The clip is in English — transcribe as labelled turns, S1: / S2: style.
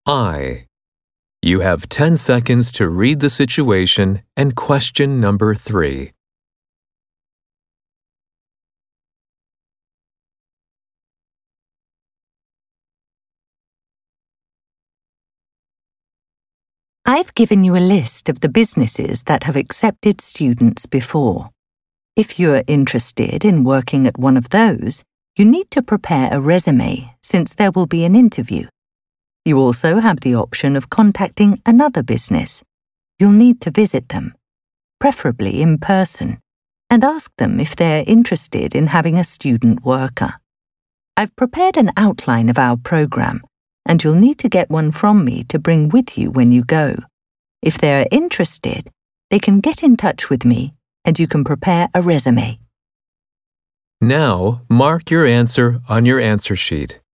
S1: I. You have 10 seconds to read the situation and question number 3.
S2: I've given you a list of the businesses that have accepted students before. If you're interested in working at one of those, you need to prepare a resume since there will be an interview. You also have the option of contacting another business. You'll need to visit them, preferably in person, and ask them if they're interested in having a student worker. I've prepared an outline of our program, and you'll need to get one from me to bring with you when you go. If they're interested, they can get in touch with me and you can prepare a resume.
S1: Now, mark your answer on your answer sheet.